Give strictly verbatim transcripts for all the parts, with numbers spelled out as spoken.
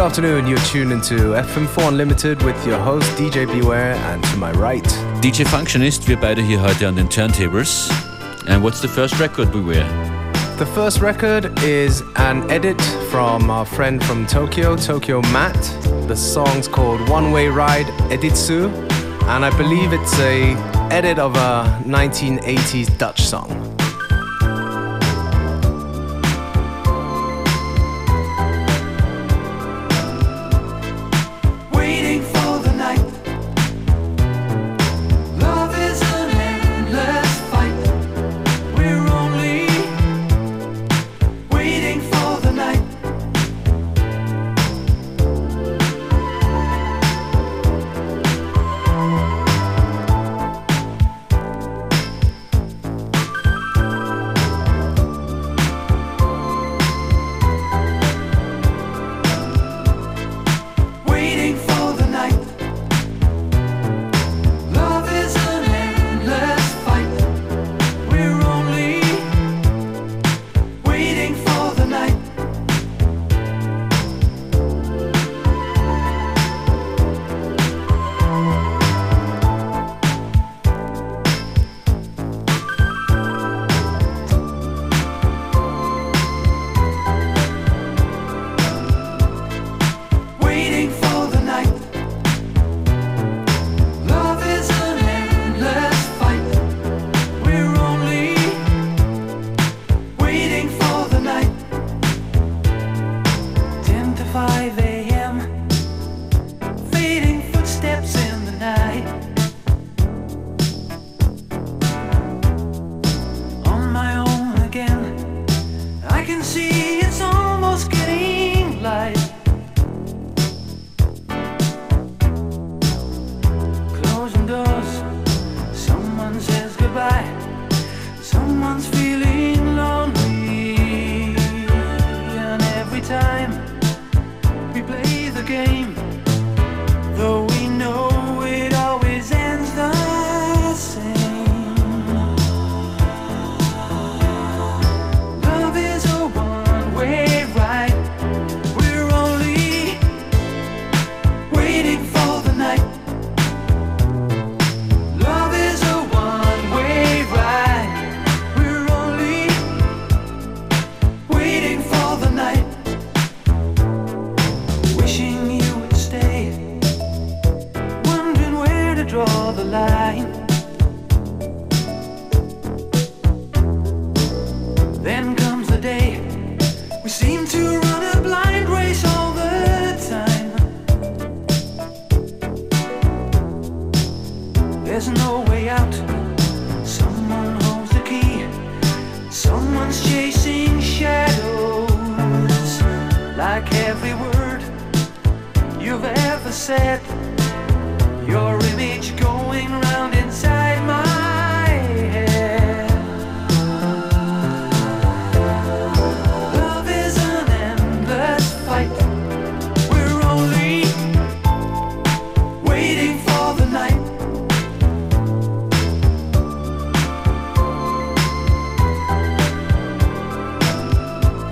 afternoon, you're tuned into F M four Unlimited with your host D J Beware, and to my right D J Functionist, wir beide hier heute an den Turntables. And what's the first record, Beware? The first record is an edit from our friend from Tokyo, Tokyo Matt. The song's called One Way Ride Editsu, and I believe it's a edit of a nineteen eighties Dutch song.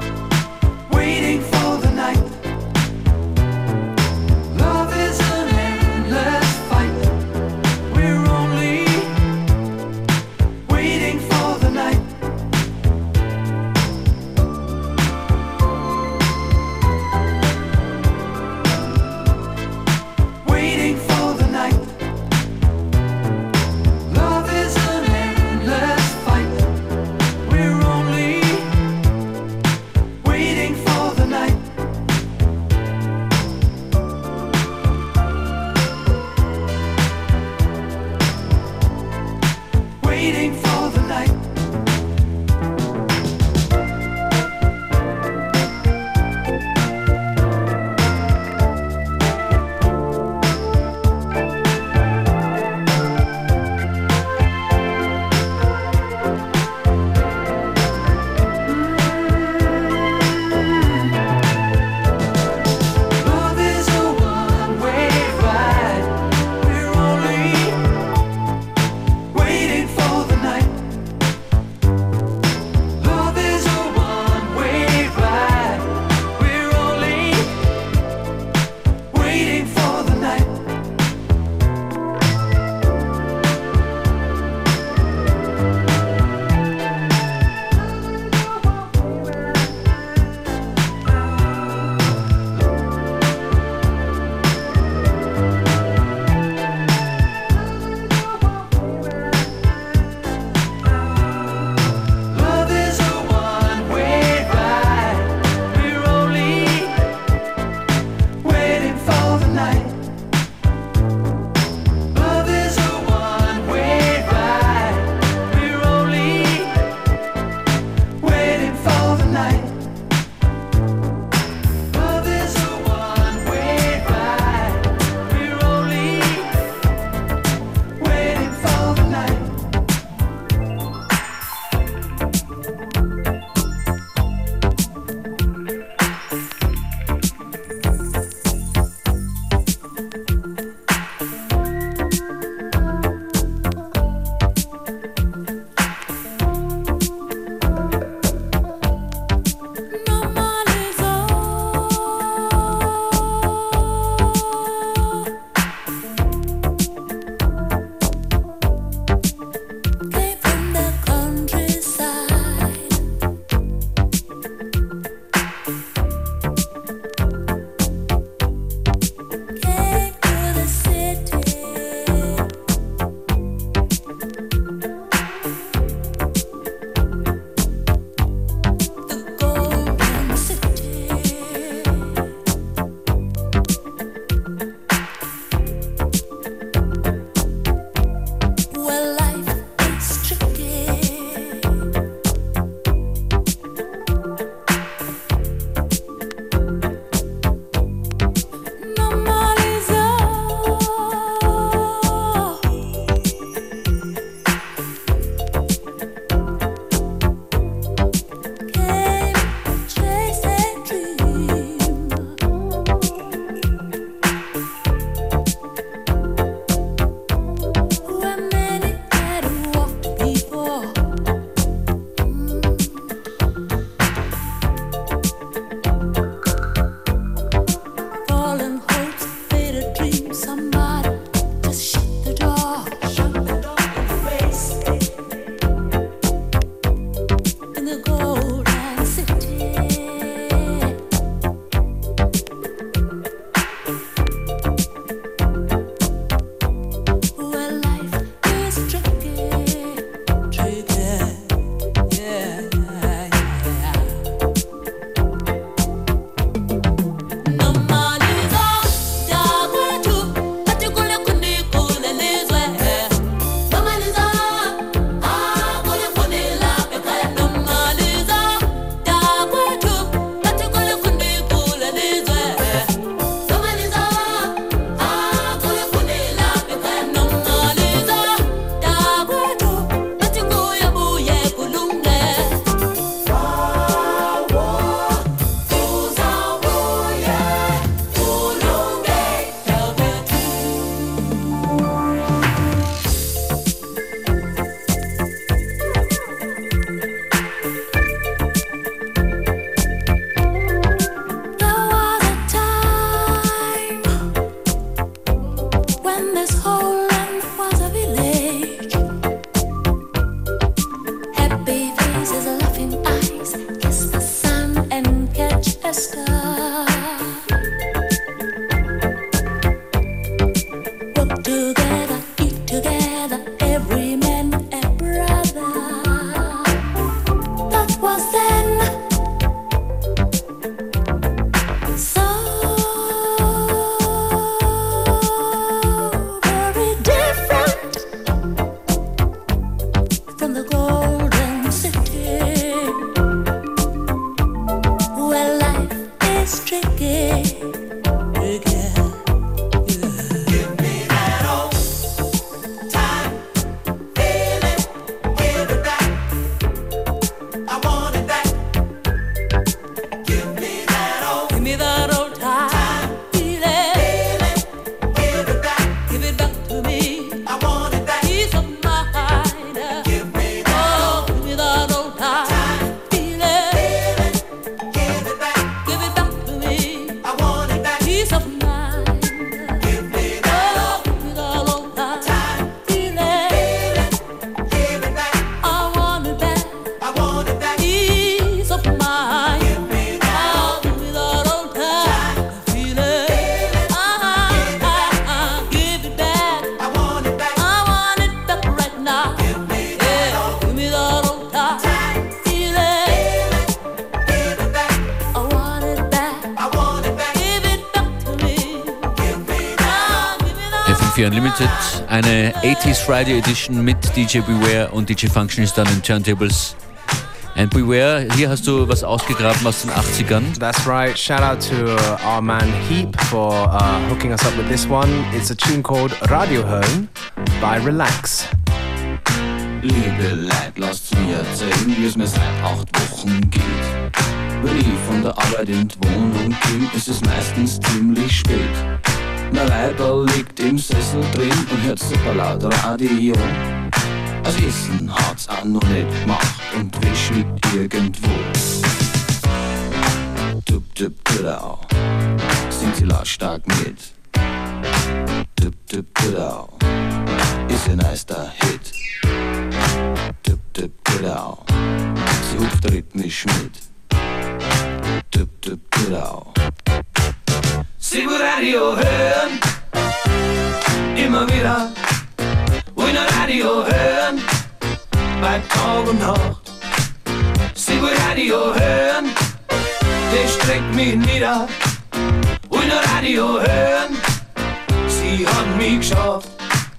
Waiting for the night. Love is an when this whole land was a village. Happy faces, laughing eyes, kiss the sun and catch a star. Work together, eat together, every man a brother. That was then. So very different from the golden city, where life is tricky. Unlimited, eine eighties Friday Edition mit D J Beware und D J Functionist an den Turntables. And Beware, hier hast du was ausgegraben aus den achtzigern. That's right. Shout out to uh, our man Heap for uh, hooking us up with this one. It's a tune called Radio Hören by Relax. Liebe Leute, lasst's mir erzählen, wie es mir seit acht Wochen geht. Wenn ich von der Arbeit in die Wohnung komm, ist es meistens ziemlich spät. Mein Weiberl liegt im Sessel drin und hört super laut Radio. Das Essen hat's auch noch nicht gemacht und Wäsch liegt irgendwo. Tup tup tudau, singt sie lautstark mit. Tup tup tudau, ist ein nicer Hit. Tup tup tudau, sie hupft rhythmisch mit. Tup tup tudau. Sie will Radio hören, immer wieder. Will nur Radio hören, bei Tag und Nacht. Sie will Radio hören, das streckt mich nieder. Will nur Radio hören, sie hat mich geschafft.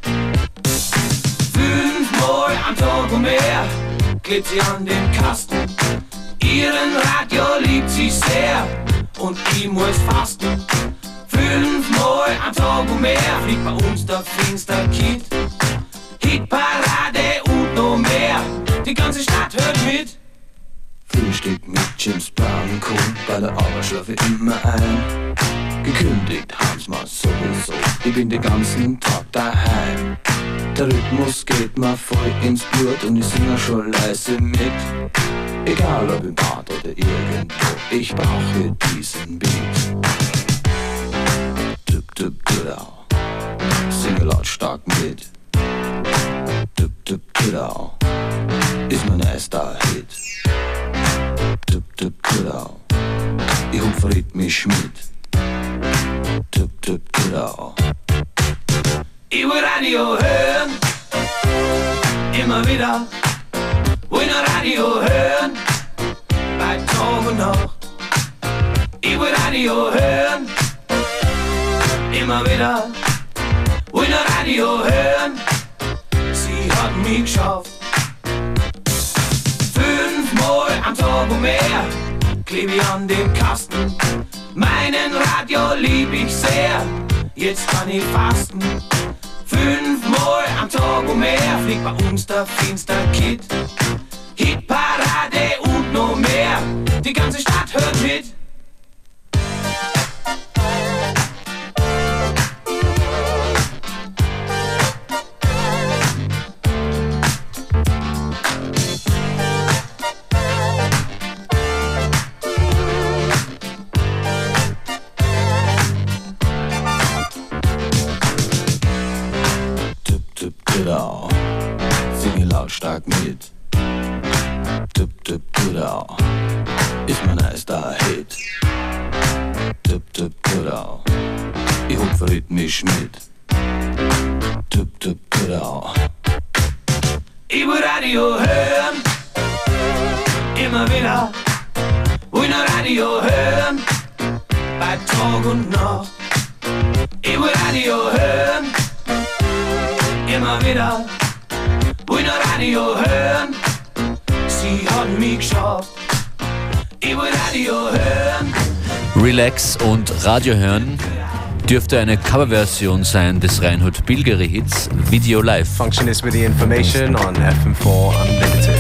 Fünfmal am Tag und mehr klebt sie an den Kasten. Ihren Radio liebt sie sehr und ich muss fasten. Fünfmal am Tag und mehr fliegt bei uns der Finster-Kid. Hitparade und noch mehr, die ganze Stadt hört mit. Frühstück mit James Brown und Co. Bei der Arbeit schlafe ich immer ein. Gekündigt haben's mal sowieso, ich bin den ganzen Tag daheim. Der Rhythmus geht mir voll ins Blut und ich singe schon leise mit. Egal ob im Bad oder irgendwo, ich brauche diesen Beat. Tup tup tudau, singe lautstark mit. Tup tup tudau, ist mein erster Hit. Tup tup tudau, ich hupf rhythmisch mit. Tup tup tudau. Ich will Radio hören, immer wieder. Will nur Radio hören, bei Tag und Nacht. Ich will Radio hören, immer wieder. Will nur Radio hören, sie hat mich geschafft. Fünfmal am Tag und mehr kleb ich an dem Kasten. Meinen Radio lieb ich sehr, jetzt kann ich fasten. Fünfmal am Tag und mehr fliegt bei uns der Finster-Kid. Hitparade und noch mehr, die ganze Stadt hört mit. Tudau, singe lautstark mit. Tup tup Tudau, ist mein erster Hit. Tup tup Tudau, ich hupfe rhythmisch mit. Tup tup Tudau. Ich will Radio hören, immer wieder. Will noch Radio hören, bei Tag und Nacht. Ich will Radio hören, immer wieder. Will noch Radio hören, sie hat mich geschafft. Ich will Radio hören. Relax und Radio hören dürfte eine Coverversion sein des Reinhold Bilgeri-Hits Video Live. Function is with the information on F M four Unlimited.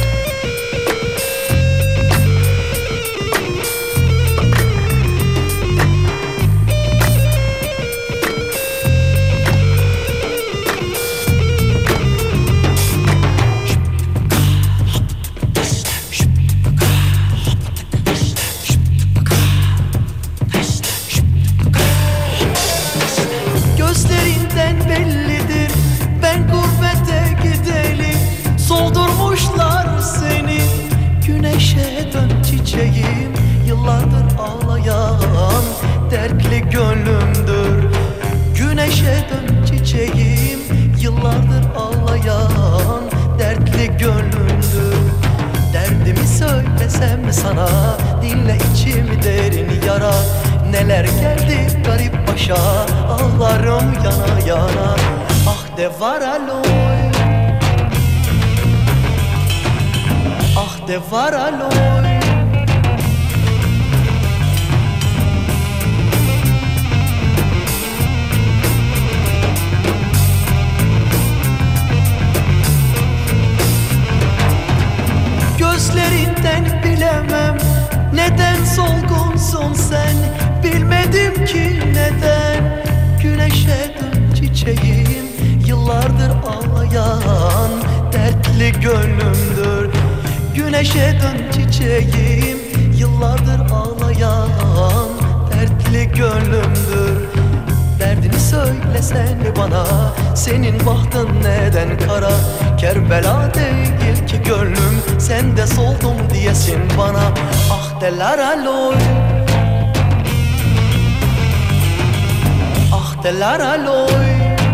Yıllardır ağlayan dertli gönlümdür. Güneşe dön çiçeğim, yıllardır ağlayan dertli gönlümdür. Derdimi söylesem mi sana, dinle içimi derin yara. Neler geldi garip başa, ağlarım yana yana. Ah de var aloy, ah de var aloy. Gözlerinden bilemem neden solgunsun sen. Bilmedim ki neden. Güneşe dön çiçeğim, yıllardır ağlayan dertli gönlümdür. Güneşe dön çiçeğim, yıllardır ağlayan dertli gönlümdür. Derdini söylesen mi bana, senin bahtın neden kara? Kerbela değil ki gönlüm, sen de soldum diyesin bana. Ah deler aloy, ah deler aloy.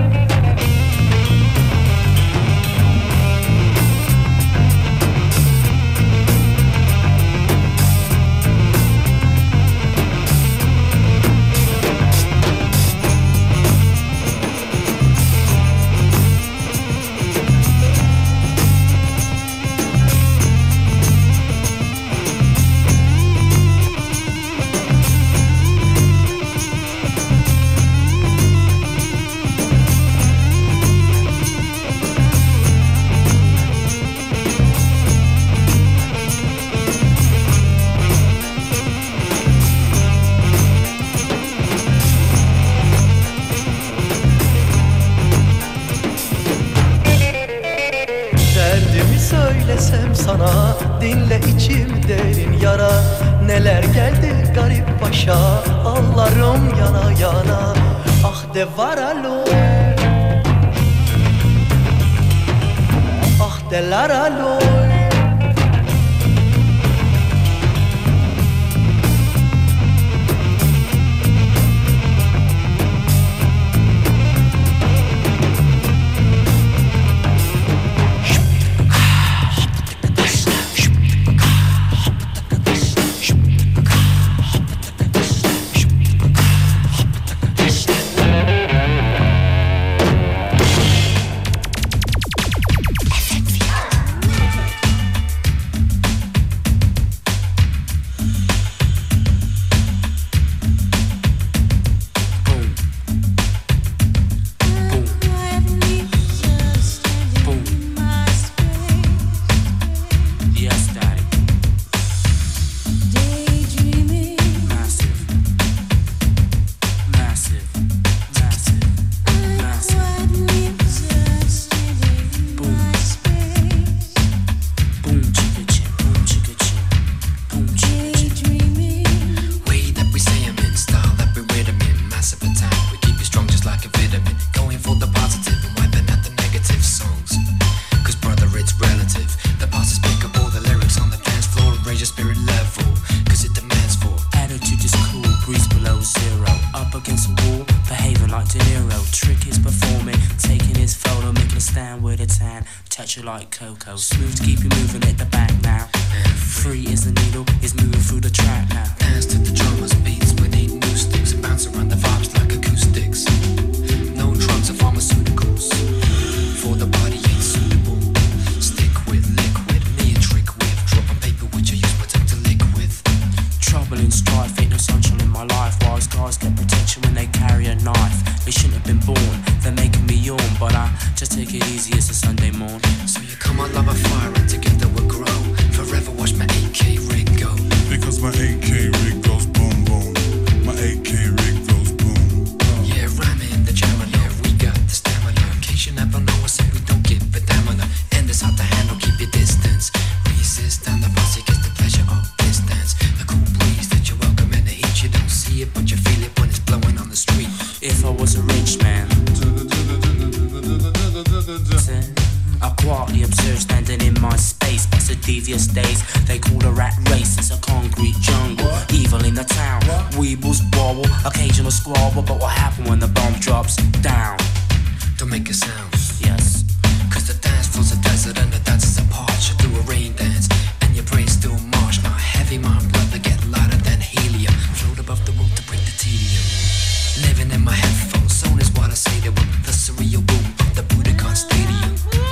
Söylesem sana, dinle içim derin yara. Neler geldi garip başa, ağlarım yana yana. Ah de var aloy, ah deler aloy. touch you like cocoa. Smooth to keep you moving at the back now. Free as the needle is moving through the track now. Dance to the drummer's beats with eight new sticks and bounce around the vibes like acoustics. No drugs or pharmaceuticals, for the body ain't suitable. Stick with liquid, me a trick with. Drop on paper which I use my tongue to lick with. Trouble and strife, ain't no sunshine in my life. Wise guys get protection when they carry a knife. They shouldn't have been born, they're making me yawn. But I just take it easy, it's a Sunday morn. So you come on, love a fire and together we'll grow. Forever watch my A K rig go. Because my A K rig goes boom boom. My A K rig goes boom. Yeah, rhyming in the jammer, yeah, we got the stamina. In case you never know us, and we don't give a damn on. And it's hard to handle, keep your distance. Resist and the posse gets the pleasure of distance. The cool breeze that you welcome and the heat, you don't see it, but you feel it when it's blowing on the street. If I was a rich man, I quietly observe standing in my space. Past the devious days, they call the rat race. It's a concrete jungle, evil in the town. Weebles wobble, occasional squabble. But what happened when the bomb drops down? Don't make a sound. Yes. Cause the dance floor's a desert and the dancers are parched. You do a rain dance and your brain still march. My heavy, my blood to get lighter than helium. Float above the room to break the tedium. Living in my headphones, zone is what I say to with the surreal boom of the Budokan Stadium.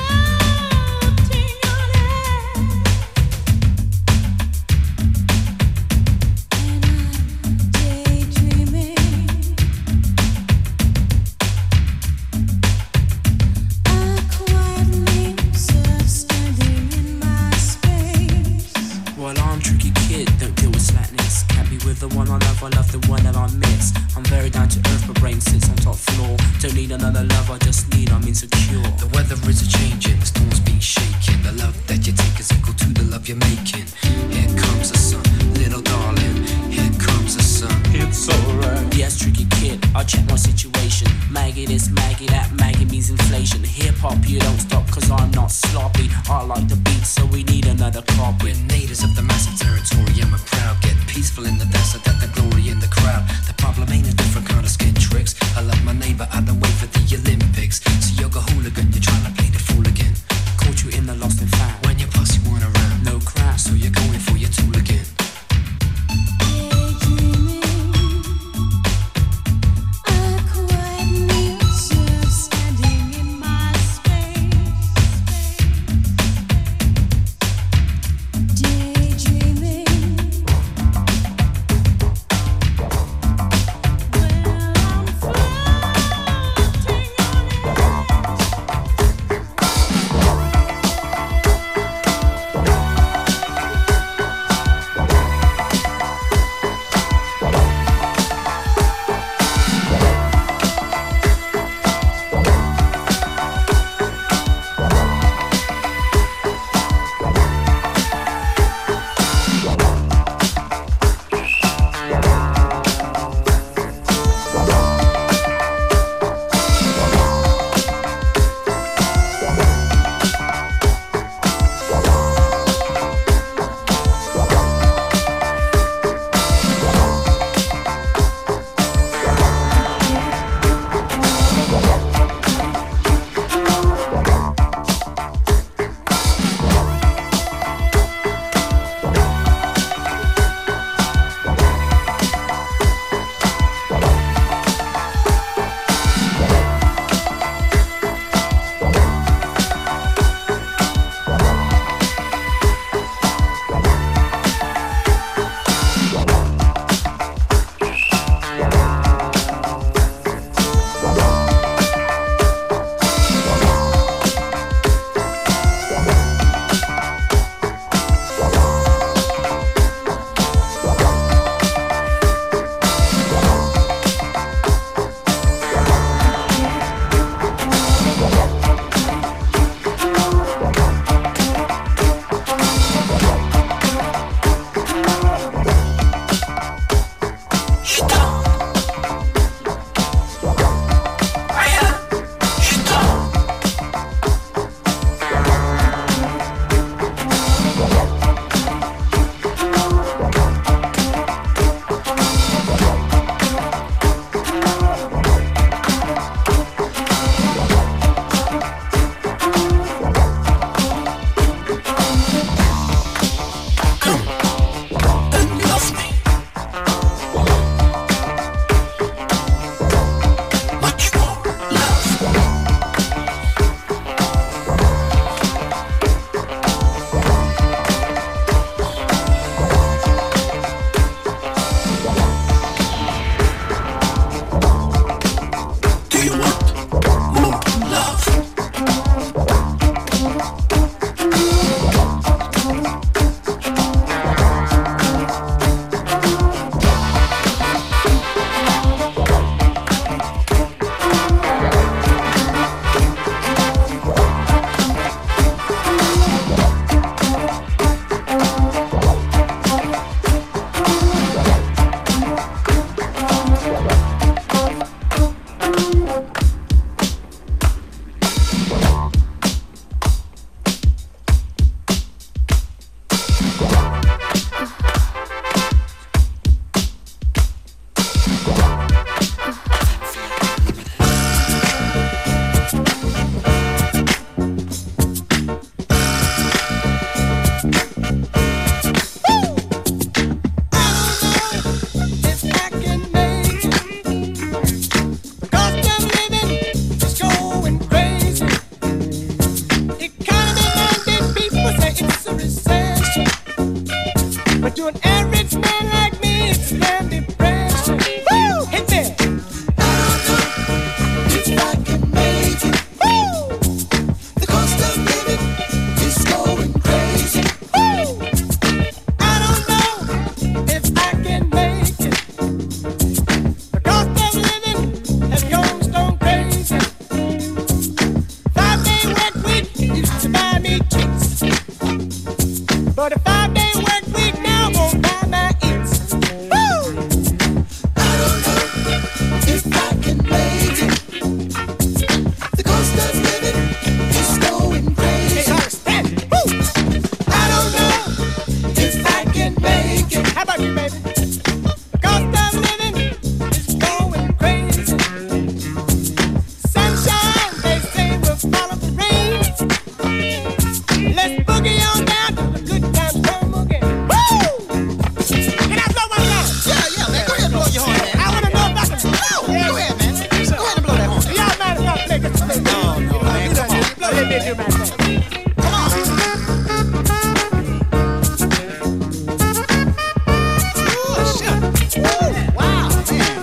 The one I love, I love the one that I miss. I'm very down to earth, my brain sits on top floor. Don't need another love, I just need, I'm insecure. The weather is a changing, the storm's been shaking. The love that you take is equal to the love you're making. Here comes the sun, little darling. Here comes the sun. It's alright. Yes, tricky kid, I check my situation. Maggie this, Maggie that, Maggie means inflation. Hip hop, you don't stop, cause I'm not sloppy. I like the beat, so we need another copy. We're natives of the massive territory, and we're proud. Get peaceful in the desert, that the glory in the crowd. The problem ain't a different kind of skin tricks. I love my neighbor, I don't wait for the Olympics. So you're a hooligan, you're trying to play the fool again. Caught you in the lost and found. When your posse weren't around, no crowd, so you're going for your tool again. they did do, man. Come on. Oh, shit. Ooh, wow, man.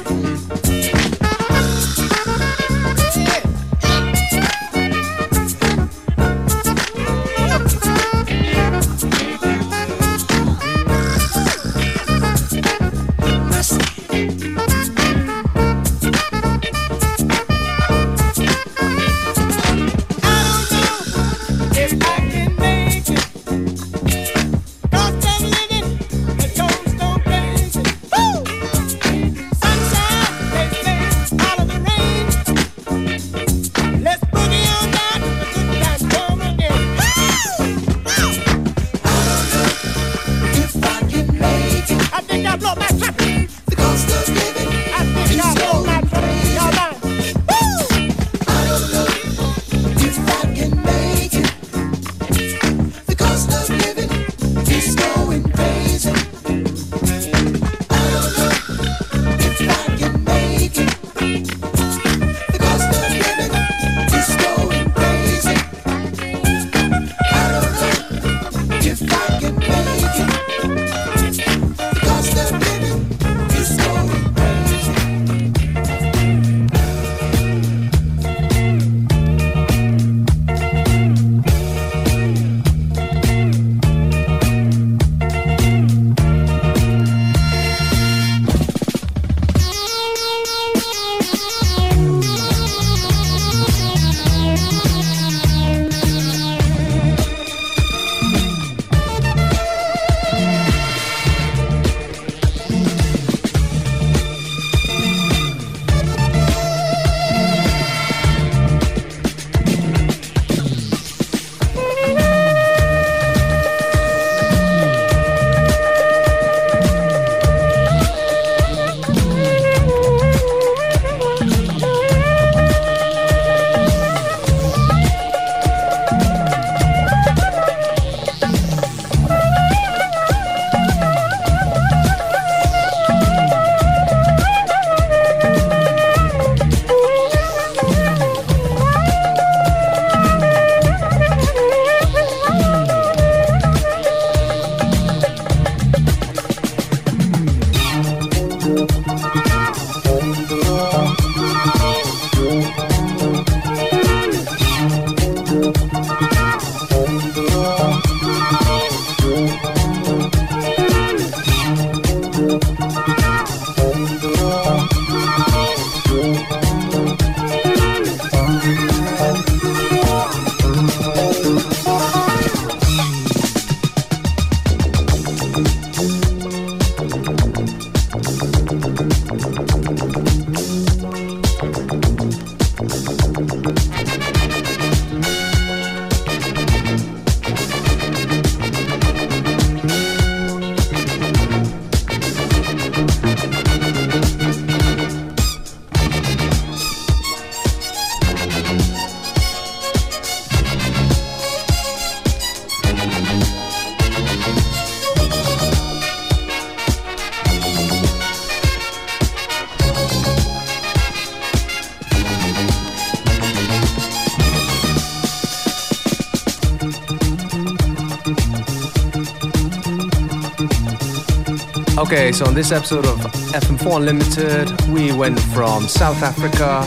Okay, so on this episode of F M four Unlimited, we went from South Africa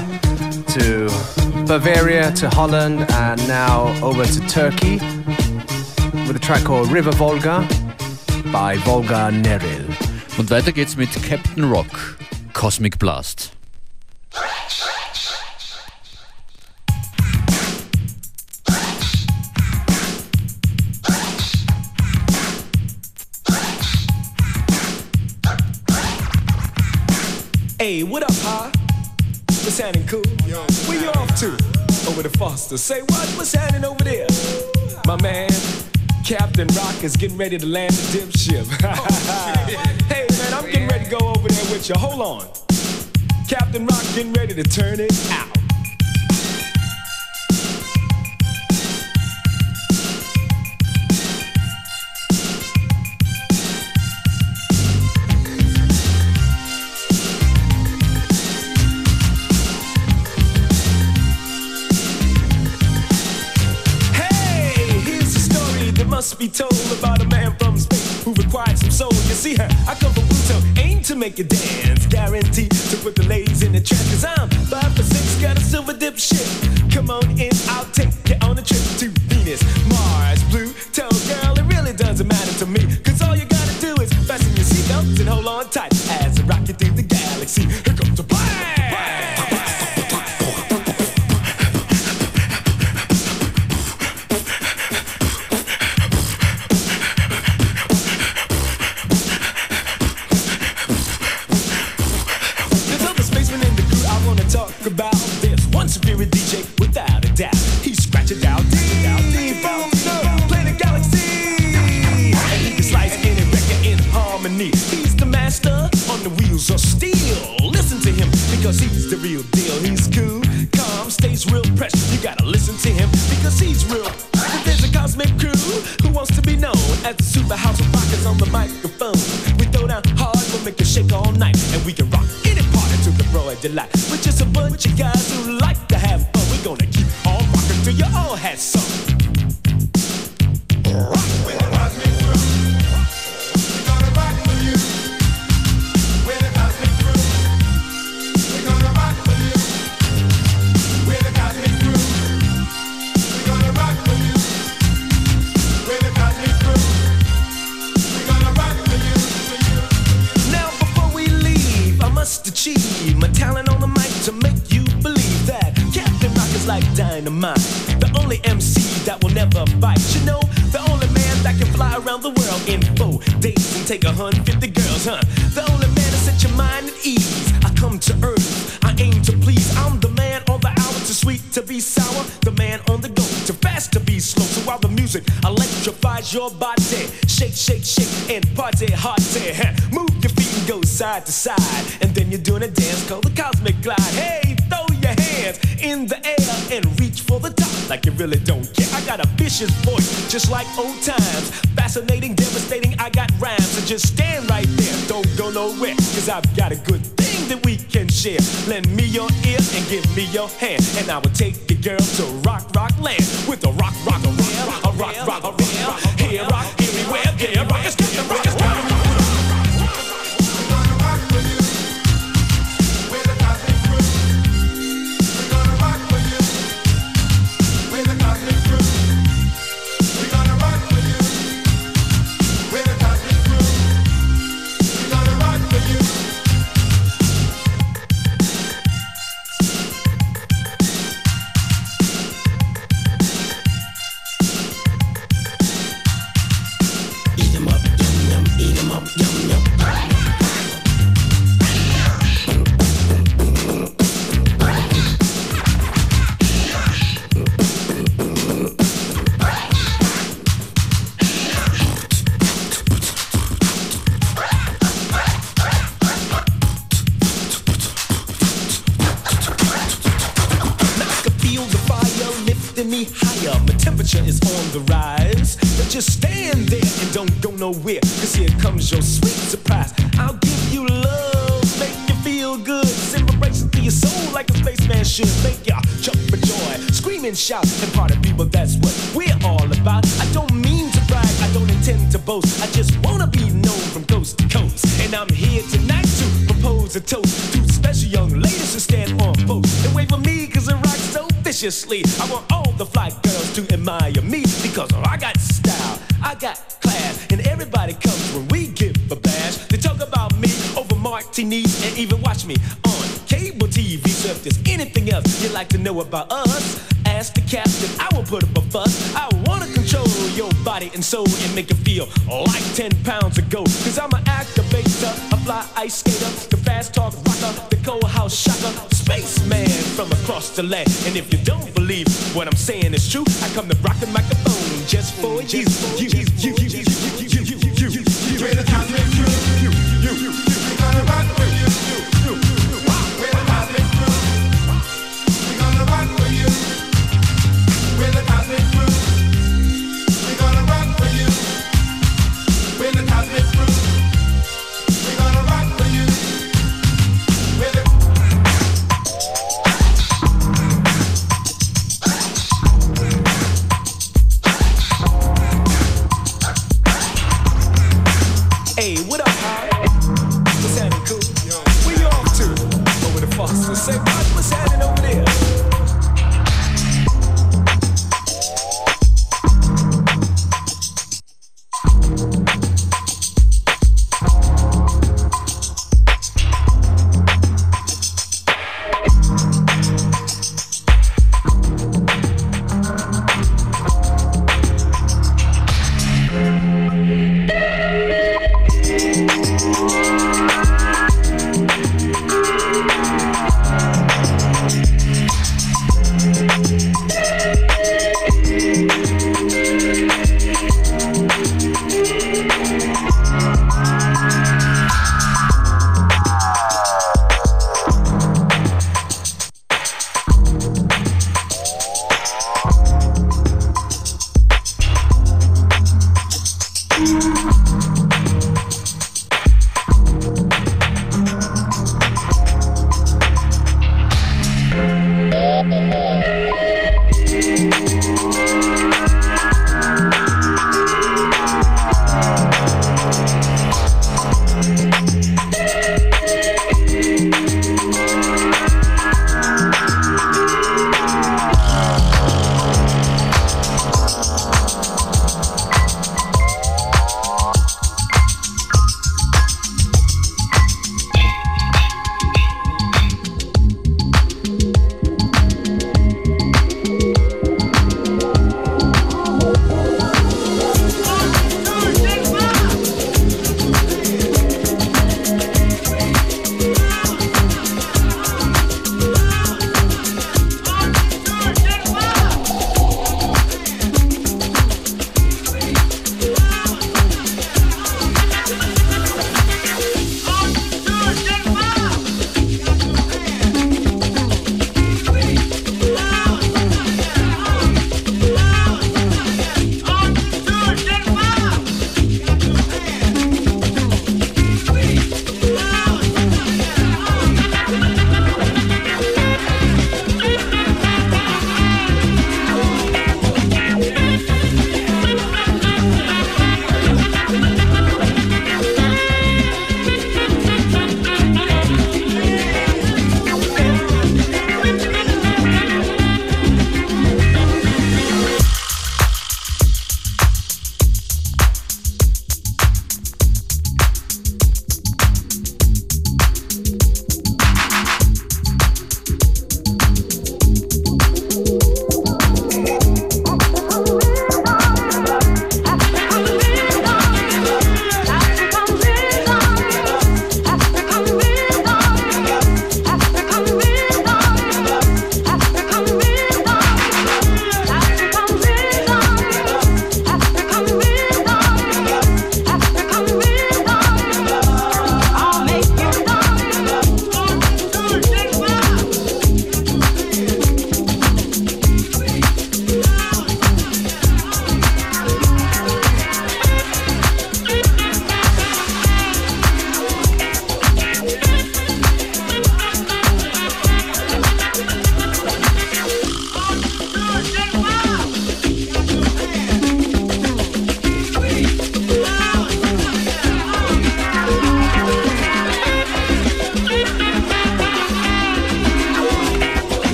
to Bavaria to Holland and now over to Turkey with a track called River Volga by Volga Neril. Und weiter geht's mit Captain Rock, Cosmic Blast. Hey, what up, huh? What's happening, cool? Yo, where you off to? Over to Foster. Say what? What's happening over there? My man, Captain Rock is getting ready to land the dim ship. Hey, man, I'm getting ready to go over there with you. Hold on. Captain Rock getting ready to turn it out. must be told about a man from space who required some soul. You see her, I come from Pluto, aim to make you dance, guaranteed to put the ladies in the trance. Cause I'm five for six, got a silver dip ship. Come on in, I'll take you on a trip to Venus, Mars, Pluto. Girl, it really doesn't matter to me, cause all you gotta do is fasten your seatbelts and hold on tight as I rock you through the galaxy. Here comes the blast! About this one superior D J without a doubt. He scratch it out deep from the planet galaxy, and he can slice any record in harmony. He's the master on the wheels of steel. Listen to him because he's the real deal. He's cool, calm, stays real precious. You gotta listen to him because he's real. There's a cosmic crew who wants to be known as the super house of rockers on the microphone. We throw down hard, we'll make you shake all night, and we can rock any party to the broad delight. We're just a bunch of guys who like to have fun. We're gonna keep on rocking till you all had some. Rock with the cosmic crew. We're gonna rock with you. With the cosmic crew. We're gonna rock with you. With the cosmic crew. We're gonna rock with you. With the cosmic crew. We're gonna rock with you. Now before we leave, I must achieve my talent on the mic to make you believe that Captain Rock is like dynamite. The only M C that will never bite. You know, the only man that can fly around the world in four days and take a hundred fifty girls, huh? The only man to set your mind at ease. I come to earth, I aim to please. I'm the man on the hour, too sweet to be sour. The man on the go, too fast to be slow. So while the music electrifies your body, shake, shake, shake, and party hard. Move your feet and go side to side, and then you're doing a dance called the Cosmic Glide. Hey, throw your hands in the air and reach for the top like you really don't care. I got a vicious voice, just like old times. Fascinating, devastating, I got rhymes. So just stand right there, don't go nowhere, cause I've got a good thing that we can share. Lend me your ear and give me your hand, and I will take the girl to rock, rock land. With a rock, rock, a rock, a rock, rock, a rock, here rock, everywhere, there rock, it's Captain Rock, it's Captain Rock. Is on the rise, but just stand there and don't go nowhere, cause here comes your sweet surprise. I'll give you love, make you feel good, send vibrations to your soul like a spaceman should. Make ya jump for joy, scream and shout, and party people, that's what we're all about. I don't mean to brag, I don't intend to boast, I just wanna be known from coast to coast. And I'm here tonight to propose a toast to special young ladies who stand on post and wait for me, cause I rock so viciously. I want all the fly girls to admire me, because I got style, I got class, and everybody comes when we give a bash. They talk about me over martinis and even watch me on cable T V. So if there's anything else you'd like to know about us, ask the captain, I will put up a fuss. I wanna control your body and soul and make you feel like ten pounds of gold. Cause I'm an activator, a fly ice skater, the fast talk rocker, the cold house shocker, spaceman from across the land. And if you don't believe what I'm saying is true, I come to rock the microphone just for you. You, you, you, you, you, you, you, you, you, you, you. We're the Cosmic Crew. You, you, you, we're gonna rock with you. You, you, we're the Cosmic Crew. We're gonna rock with you. We're the Cosmic Crew. We're gonna rock with you. We're the Cosmic Crew. We're gonna rock with you. We're the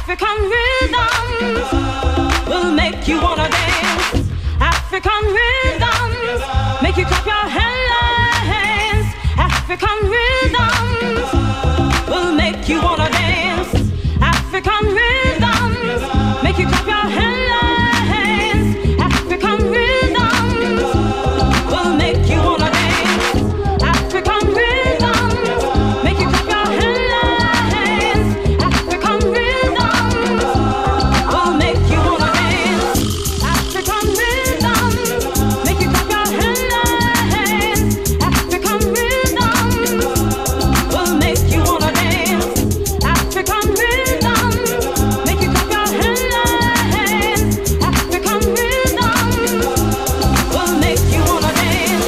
African rhythms will make you wanna dance. African rhythms make you clap your hands. African rhythms will make you wanna dance. African rhythms make you clap your hands. African rhythms will make you wanna dance. African rhythms make you clap your hands. African rhythms will make you wanna dance. African rhythms make you clap your hands. African rhythms will make you wanna dance. African rhythms make you clap your hands. African rhythms will make you wanna dance.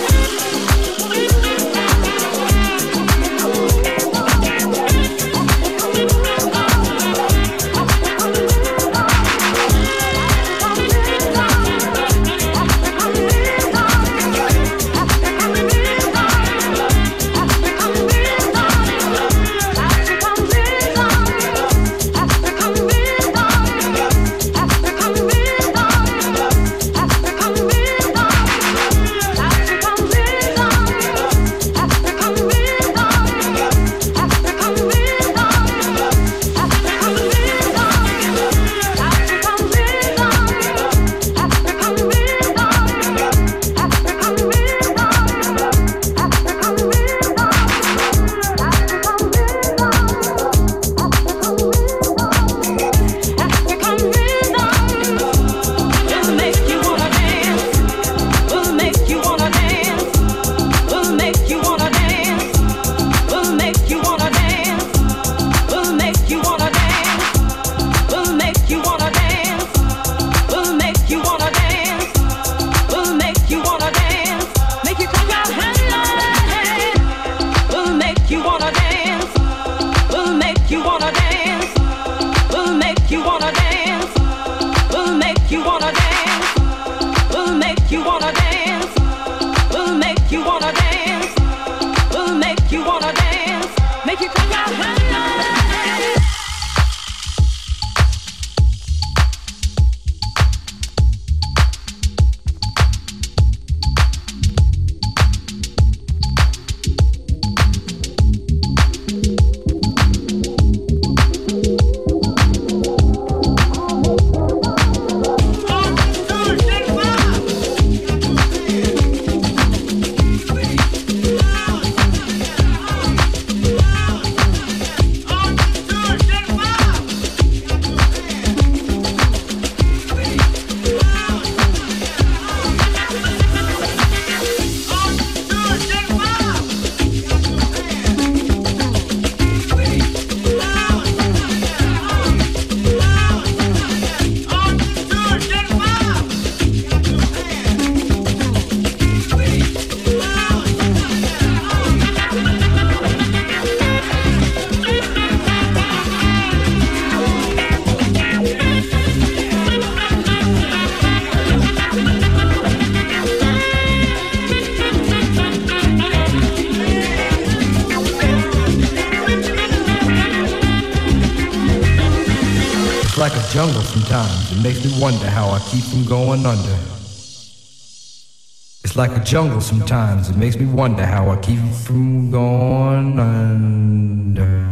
Like a jungle sometimes, it makes me wonder how I keep from going under. It's like a jungle sometimes, it makes me wonder how I keep from going under.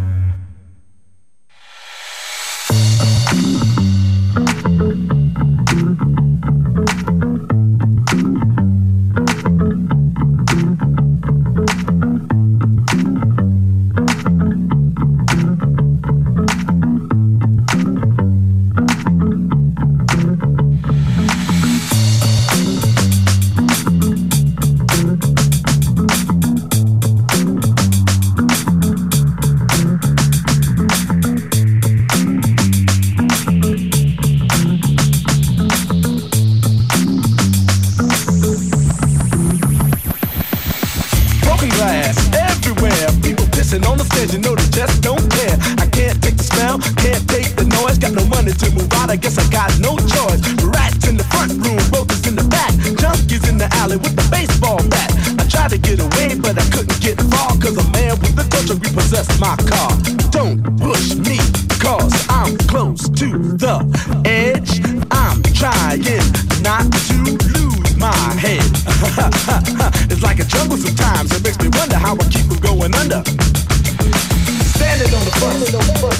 I guess I got no choice. Rats in the front room, roaches in the back, junkies in the alley with the baseball bat. I tried to get away, but I couldn't get far, cause a man with a culture repossessed my car. Don't push me, cause I'm close to the edge. I'm trying not to lose my head. It's like a jungle sometimes. It makes me wonder how I keep from going under. Standing on the bus,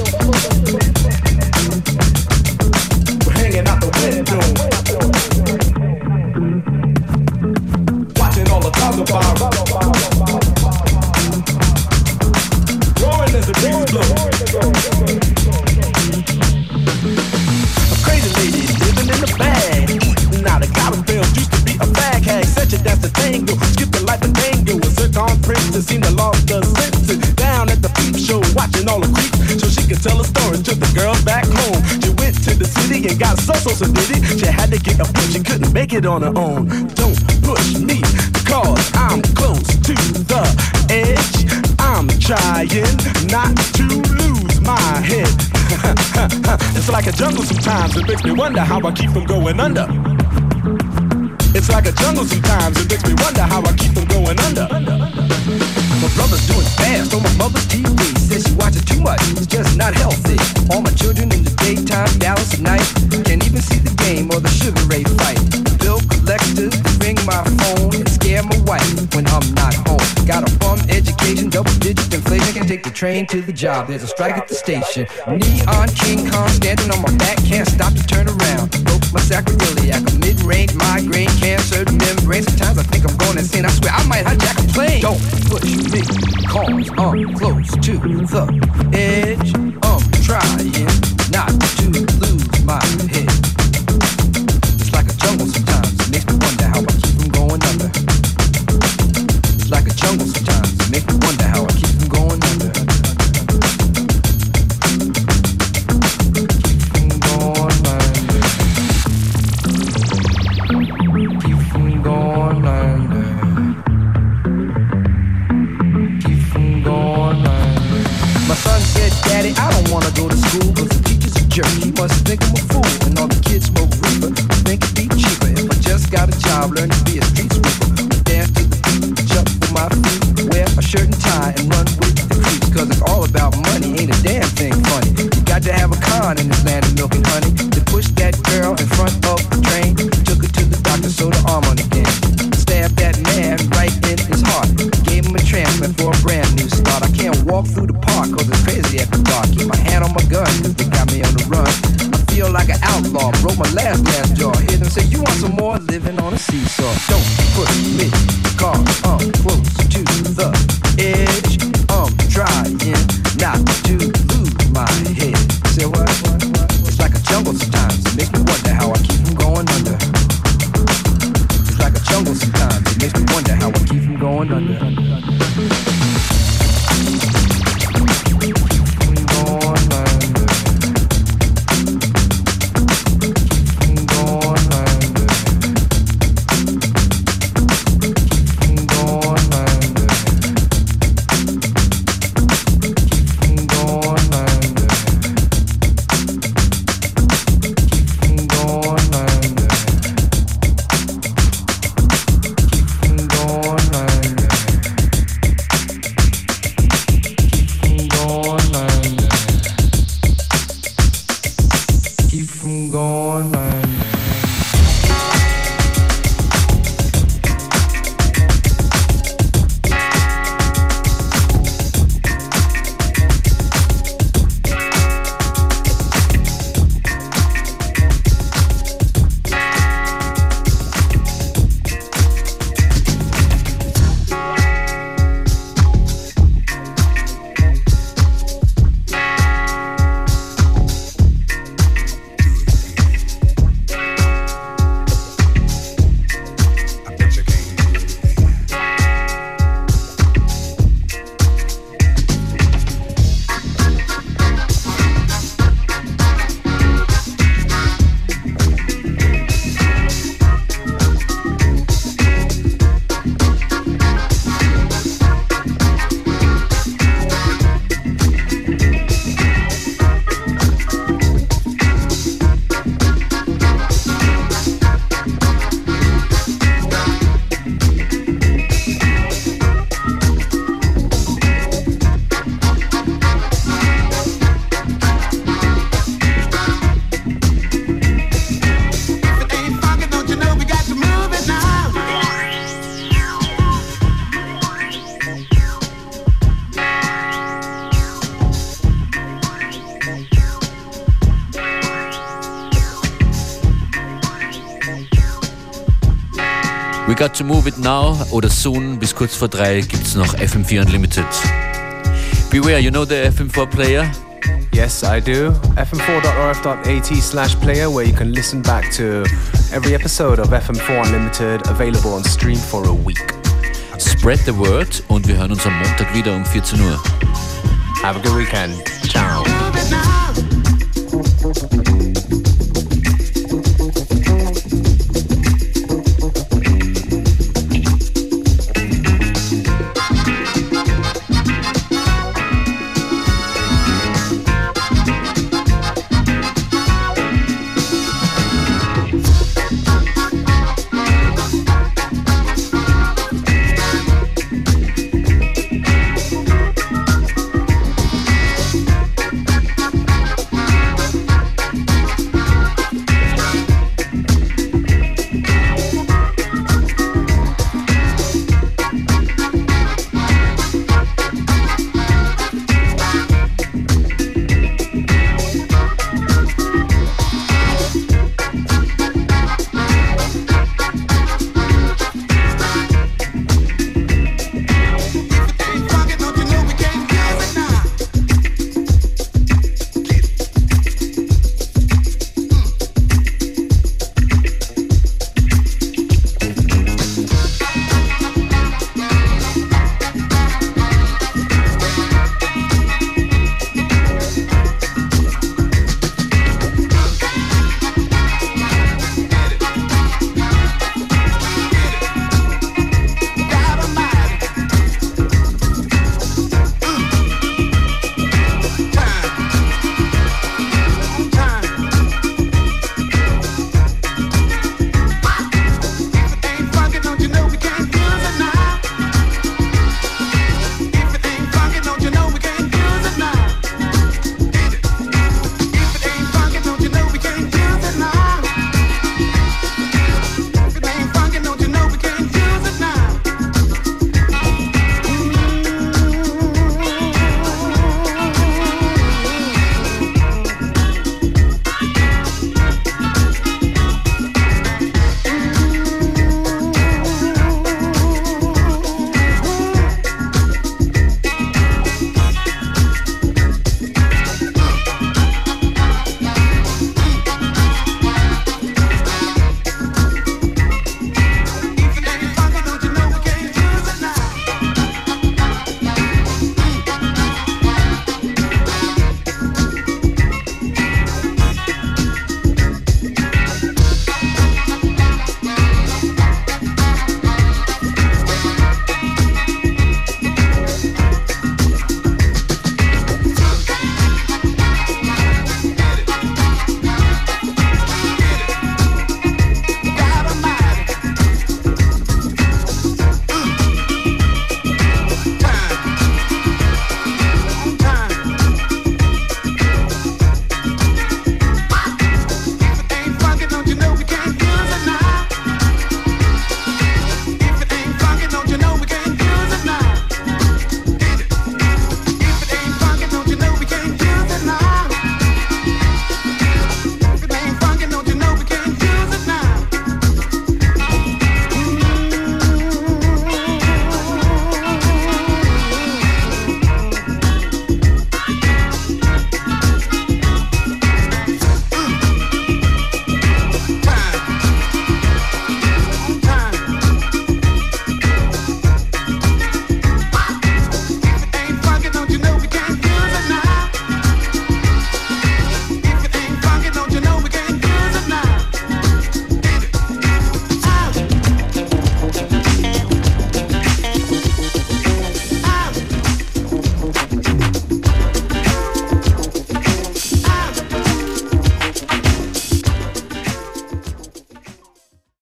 we're hanging out the window, watching all the cars go by, roaring as the breeze blows. A crazy lady living in the bag, eating out of cotton bales. Used to be a fag hag, such a dance the tango, skip the life and tango. A zircon princess seemed to lost the senses. Down at the peep show, watching all the creeps, so she could tell a story to the girls back home. She went to the city and got so so so diddy. She had to get a push, she couldn't make it on her own. Don't push me, cause I'm close to the edge. I'm trying not to lose my head. It's like a jungle sometimes, it makes me wonder how I keep from going under. It's like a jungle sometimes, it makes me wonder how I keep from going under. My brother's doing fast on my mother's T V. Says she watches too much, it's just not healthy. All my children in the daytime, Dallas at night. Can't even see the game or the Sugar Ray fight. Bill collectors ring my phone and scare my wife when I'm not home. Got a bum education, double digit inflation. Can take the train to the job, there's a strike at the station. Neon King Kong standing on my back, can't stop to turn around. Broke my sacroiliac, a mid-range migraine, cancer membrane. Sometimes I think I'm going insane, I swear I might hijack a plane. Don't push me, cause I'm close to the edge. I'm trying not to lose my head. It's like a jungle sometimes, it makes me wonder how I keep from going under. It's like a jungle sometimes, it makes me wonder how I keep from going under. Keep from going under. Keep from going under. Keep from going under. My son said, Daddy, I don't wanna go to school, cause the teacher's a jerk. He must think I'm a fool, and all the kids smoke reefer. Think it'd be cheaper if I just got a job, learn to be a street sweeper. Dance to the beat, jump for my feet, wear a shirt and tie, and run with the creeps. Cause it's all about money, ain't a damn thing funny. You got to have a con in this land of milk and honey. To push that girl in front of the train, took her to the doctor, sewed her arm on again. Stabbed that man right in his heart, gave him a transplant for a brand new start. I can't walk through the park cause it's crazy after dark. Keep my hand on my gun cause they got me on the run. I feel like an outlaw, broke my last glass jaw. Hear them say, you want some more, living on a seesaw. Don't push me, cause I'm close to the edge. I'm trying not to lose my head. Say what? It's like a jungle sometimes, it makes me wonder how I keep from going under. It's like a jungle sometimes, it makes me wonder how I keep from going under. Going under. got to move it now oder soon. Bis kurz vor drei gibt's noch F M four Unlimited. Beware, you know the F M four player? Yes, I do. f m four dot r f dot a t slash player, where you can listen back to every episode of F M four Unlimited, available on stream for a week. Spread the word und wir hören uns am Montag wieder um fourteen Uhr. Have a good weekend. Ciao. Move it now.